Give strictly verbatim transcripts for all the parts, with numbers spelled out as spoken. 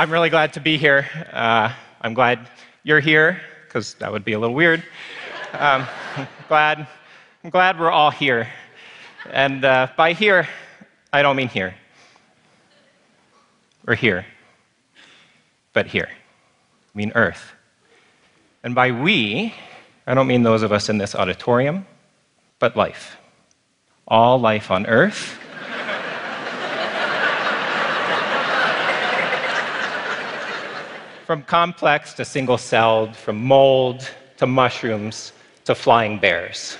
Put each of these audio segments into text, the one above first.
I'm really glad to be here. Uh, I'm glad you're here, because that would be a little weird. Um, I'm glad, I'm glad we're all here. And uh, by here, I don't mean here. Or here. But here. I mean Earth. And by we, I don't mean those of us in this auditorium, but life. All life on Earth. From complex to single-celled, from mold to mushrooms to flying bears.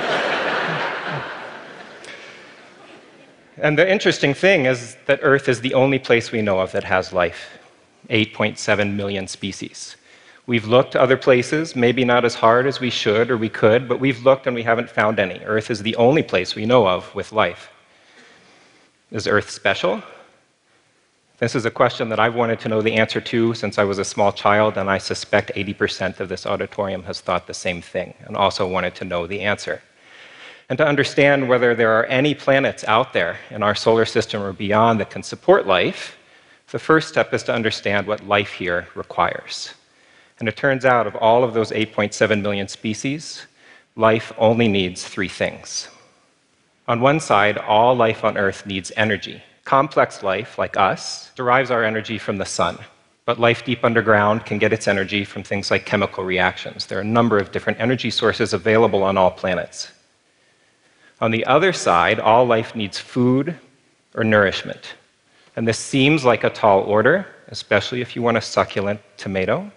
And the interesting thing is that Earth is the only place we know of that has life. eight point seven million species. We've looked other places, maybe not as hard as we should or we could, but we've looked and we haven't found any. Earth is the only place we know of with life. Is Earth special? This is a question that I've wanted to know the answer to since I was a small child, and I suspect eighty percent of this auditorium has thought the same thing and also wanted to know the answer. And to understand whether there are any planets out there in our solar system or beyond that can support life, the first step is to understand what life here requires. And it turns out, of all of those eight point seven million species, life only needs three things. On one side, all life on Earth needs energy. Complex life, like us, derives our energy from the sun. But life deep underground can get its energy from things like chemical reactions. There are a number of different energy sources available on all planets. On the other side, all life needs food or nourishment. And this seems like a tall order, especially if you want a succulent tomato.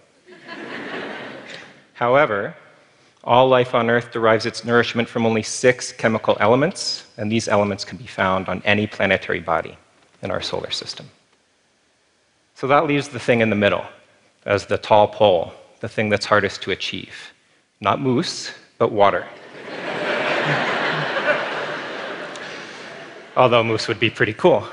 However, all life on Earth derives its nourishment from only six chemical elements, and these elements can be found on any planetary body in our solar system. So that leaves the thing in the middle as the tall pole, the thing that's hardest to achieve. Not moose, but water. Although moose would be pretty cool.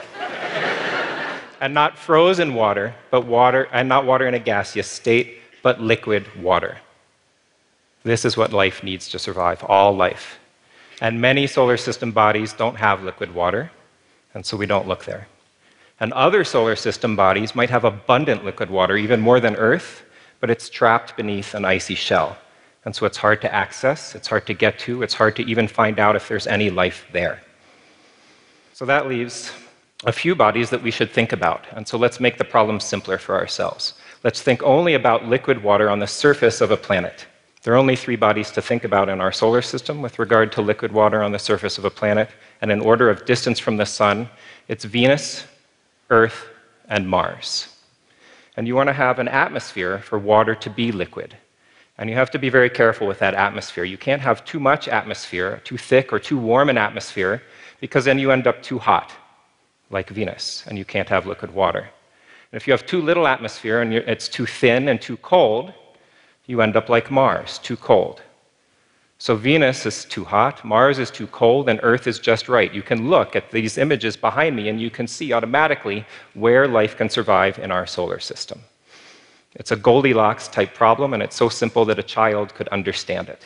And not frozen water, but water, and not water in a gaseous state, but liquid water. This is what life needs to survive, all life. And many solar system bodies don't have liquid water, and so we don't look there. And other solar system bodies might have abundant liquid water, even more than Earth, but it's trapped beneath an icy shell. And so it's hard to access, it's hard to get to, it's hard to even find out if there's any life there. So that leaves a few bodies that we should think about. And so let's make the problem simpler for ourselves. Let's think only about liquid water on the surface of a planet. There are only three bodies to think about in our solar system with regard to liquid water on the surface of a planet, and in order of distance from the sun, it's Venus, Earth, and Mars. And you want to have an atmosphere for water to be liquid. And you have to be very careful with that atmosphere. You can't have too much atmosphere, too thick or too warm an atmosphere, because then you end up too hot, like Venus, and you can't have liquid water. And if you have too little atmosphere and it's too thin and too cold, you end up like Mars, too cold. So Venus is too hot, Mars is too cold, and Earth is just right. You can look at these images behind me and you can see automatically where life can survive in our solar system. It's a Goldilocks type problem, and it's so simple that a child could understand it.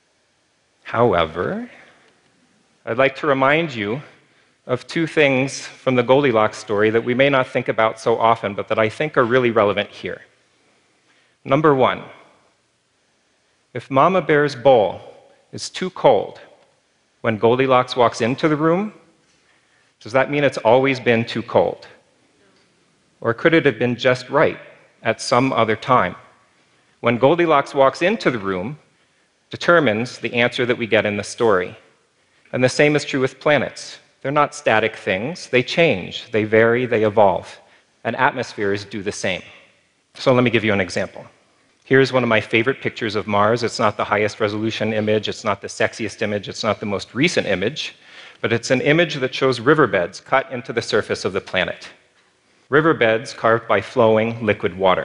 However, I'd like to remind you of two things from the Goldilocks story that we may not think about so often, but that I think are really relevant here. Number one, if Mama Bear's bowl is too cold when Goldilocks walks into the room, does that mean it's always been too cold? Or could it have been just right at some other time? When Goldilocks walks into the room, determines the answer that we get in the story. And the same is true with planets. They're not static things. They change, they vary, they evolve. And atmospheres do the same. So let me give you an example. Here's one of my favorite pictures of Mars. It's not the highest resolution image, it's not the sexiest image, it's not the most recent image, but it's an image that shows riverbeds cut into the surface of the planet. Riverbeds carved by flowing liquid water.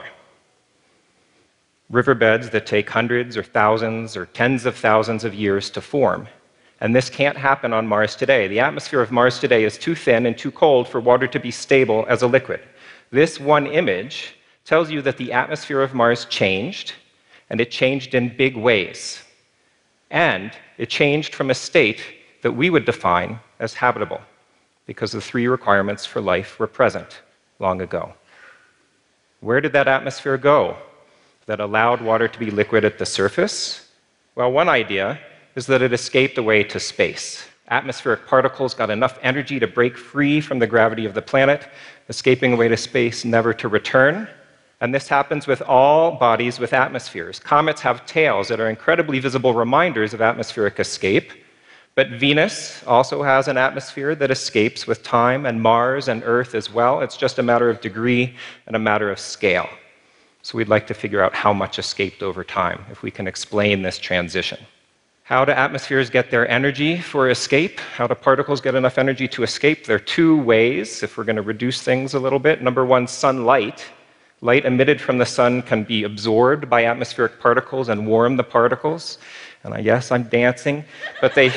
Riverbeds that take hundreds or thousands or tens of thousands of years to form. And this can't happen on Mars today. The atmosphere of Mars today is too thin and too cold for water to be stable as a liquid. This one image tells you that the atmosphere of Mars changed, and it changed in big ways. And it changed from a state that we would define as habitable, because the three requirements for life were present long ago. Where did that atmosphere go that allowed water to be liquid at the surface? Well, one idea is that it escaped away to space. Atmospheric particles got enough energy to break free from the gravity of the planet, escaping away to space, never to return. And this happens with all bodies with atmospheres. Comets have tails that are incredibly visible reminders of atmospheric escape. But Venus also has an atmosphere that escapes with time, and Mars and Earth as well. It's just a matter of degree and a matter of scale. So we'd like to figure out how much escaped over time, if we can explain this transition. How do atmospheres get their energy for escape? How do particles get enough energy to escape? There are two ways, if we're going to reduce things a little bit. Number one, sunlight. Light emitted from the sun can be absorbed by atmospheric particles and warm the particles. And I guess I'm dancing, but they...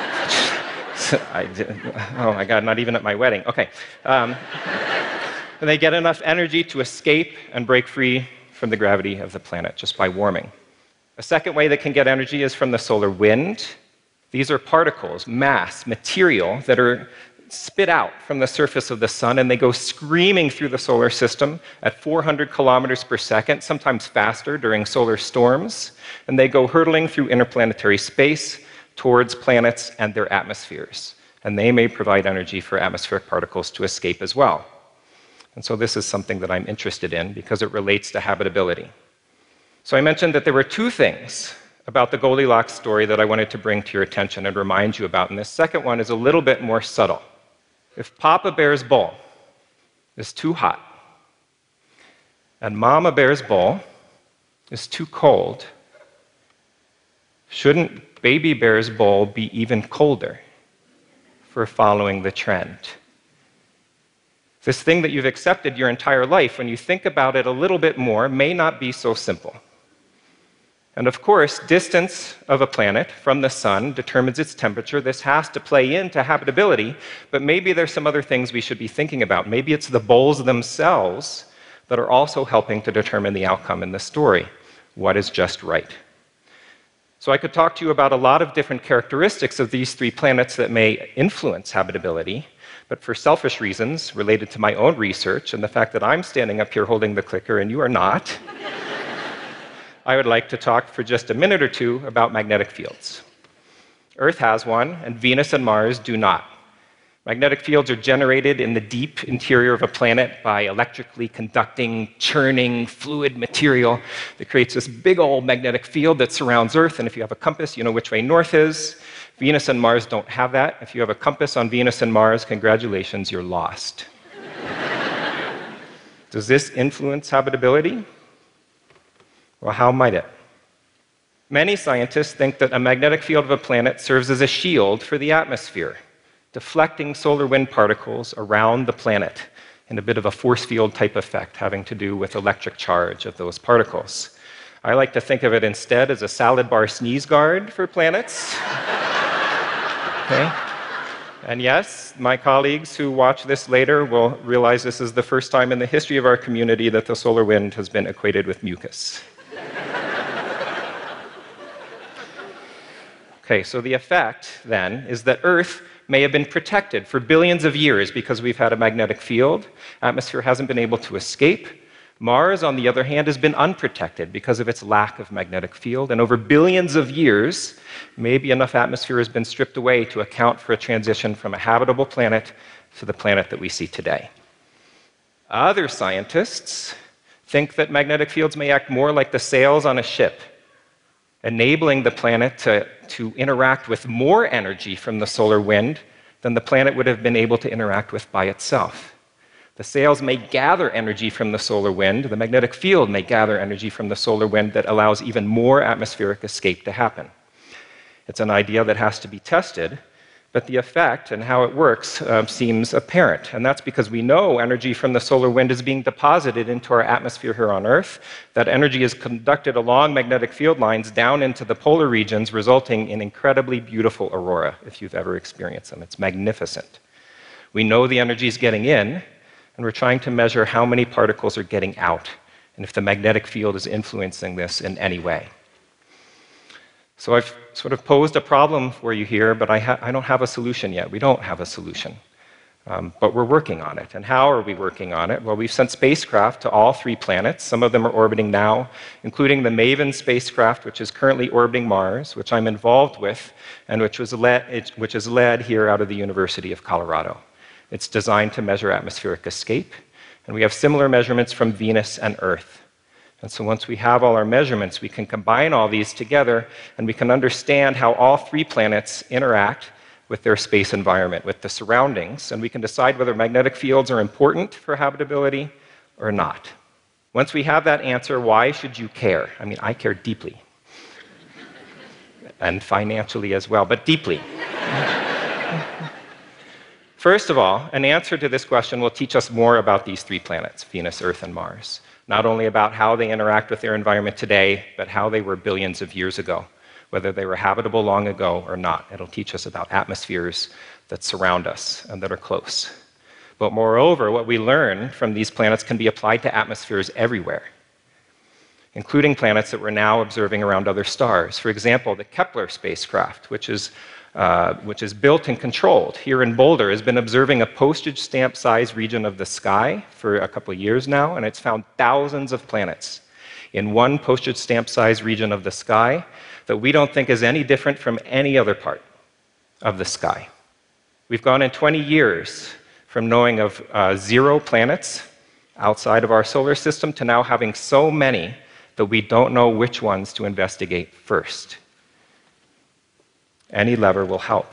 I did, oh my God, not even at my wedding. Okay. Um, and they get enough energy to escape and break free from the gravity of the planet just by warming. A second way that can get energy is from the solar wind. These are particles, mass, material that are spit out from the surface of the sun, and they go screaming through the solar system at four hundred kilometers per second, sometimes faster during solar storms, and they go hurtling through interplanetary space towards planets and their atmospheres. And they may provide energy for atmospheric particles to escape as well. And so this is something that I'm interested in because it relates to habitability. So I mentioned that there were two things about the Goldilocks story that I wanted to bring to your attention and remind you about. And this second one is a little bit more subtle. If Papa Bear's bowl is too hot and Mama Bear's bowl is too cold, shouldn't Baby Bear's bowl be even colder for following the trend? This thing that you've accepted your entire life, when you think about it a little bit more, may not be so simple. And of course, distance of a planet from the sun determines its temperature. This has to play into habitability, but maybe there's some other things we should be thinking about. Maybe it's the bowls themselves that are also helping to determine the outcome in the story. What is just right? So I could talk to you about a lot of different characteristics of these three planets that may influence habitability, but for selfish reasons related to my own research and the fact that I'm standing up here holding the clicker and you are not, I would like to talk for just a minute or two about magnetic fields. Earth has one, and Venus and Mars do not. Magnetic fields are generated in the deep interior of a planet by electrically conducting, churning fluid material that creates this big old magnetic field that surrounds Earth, and if you have a compass, you know which way north is. Venus and Mars don't have that. If you have a compass on Venus and Mars, congratulations, you're lost. Does this influence habitability? Well, how might it? Many scientists think that a magnetic field of a planet serves as a shield for the atmosphere, deflecting solar wind particles around the planet in a bit of a force field type effect having to do with electric charge of those particles. I like to think of it instead as a salad bar sneeze guard for planets. Okay? And yes, my colleagues who watch this later will realize this is the first time in the history of our community that the solar wind has been equated with mucus. Okay, so the effect, then, is that Earth may have been protected for billions of years because we've had a magnetic field. Atmosphere hasn't been able to escape. Mars, on the other hand, has been unprotected because of its lack of magnetic field. And over billions of years, maybe enough atmosphere has been stripped away to account for a transition from a habitable planet to the planet that we see today. Other scientists think that magnetic fields may act more like the sails on a ship, enabling the planet to, to interact with more energy from the solar wind than the planet would have been able to interact with by itself. The sails may gather energy from the solar wind. The magnetic field may gather energy from the solar wind that allows even more atmospheric escape to happen. It's an idea that has to be tested, but the effect and how it works uh, seems apparent. And that's because we know energy from the solar wind is being deposited into our atmosphere here on Earth. That energy is conducted along magnetic field lines down into the polar regions, resulting in incredibly beautiful aurora, if you've ever experienced them. It's magnificent. We know the energy is getting in, and we're trying to measure how many particles are getting out, and if the magnetic field is influencing this in any way. So I've sort of posed a problem for you here, but I, ha- I don't have a solution yet. We don't have a solution. Um, but we're working on it. And how are we working on it? Well, we've sent spacecraft to all three planets. Some of them are orbiting now, including the MAVEN spacecraft, which is currently orbiting Mars, which I'm involved with, and which, was led, which is led here out of the University of Colorado. It's designed to measure atmospheric escape, and we have similar measurements from Venus and Earth. And so once we have all our measurements, we can combine all these together, and we can understand how all three planets interact with their space environment, with the surroundings, and we can decide whether magnetic fields are important for habitability or not. Once we have that answer, why should you care? I mean, I care deeply. And financially as well, but deeply. First of all, an answer to this question will teach us more about these three planets, Venus, Earth, and Mars. Not only about how they interact with their environment today, but how they were billions of years ago, whether they were habitable long ago or not. It'll teach us about atmospheres that surround us and that are close. But moreover, what we learn from these planets can be applied to atmospheres everywhere, including planets that we're now observing around other stars. For example, the Kepler spacecraft, which is, uh, which is built and controlled here in Boulder, has been observing a postage stamp-sized region of the sky for a couple of years now, and it's found thousands of planets in one postage stamp-sized region of the sky that we don't think is any different from any other part of the sky. We've gone in twenty years from knowing of uh, zero planets outside of our solar system to now having so many that we don't know which ones to investigate first. Any lever will help.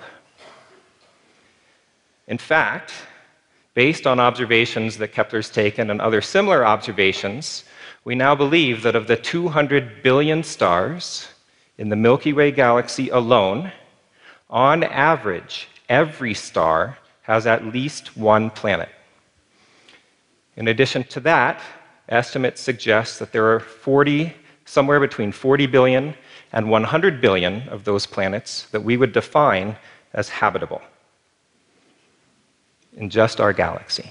In fact, based on observations that Kepler's taken and other similar observations, we now believe that of the two hundred billion stars in the Milky Way galaxy alone, on average, every star has at least one planet. In addition to that, estimates suggest that there are forty, somewhere between forty billion and one hundred billion of those planets that we would define as habitable in just our galaxy.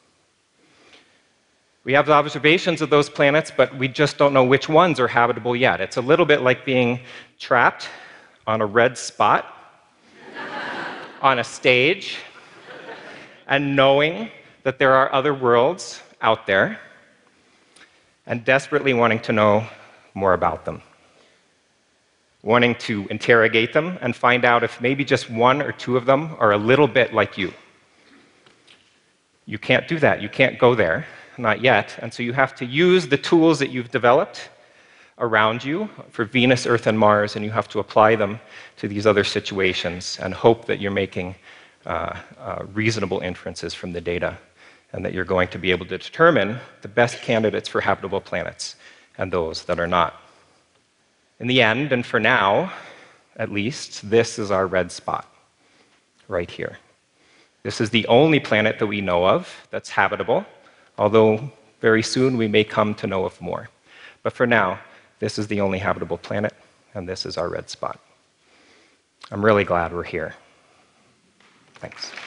We have observations of those planets, but we just don't know which ones are habitable yet. It's a little bit like being trapped on a red spot on a stage and knowing that there are other worlds out there and desperately wanting to know more about them, wanting to interrogate them and find out if maybe just one or two of them are a little bit like you. You can't do that. You can't go there. Not yet. And so you have to use the tools that you've developed around you for Venus, Earth, and Mars, and you have to apply them to these other situations and hope that you're making uh, uh, reasonable inferences from the data and that you're going to be able to determine the best candidates for habitable planets and those that are not. In the end, and for now, at least, this is our red spot right here. This is the only planet that we know of that's habitable, although very soon we may come to know of more. But for now, this is the only habitable planet, and this is our red spot. I'm really glad we're here. Thanks.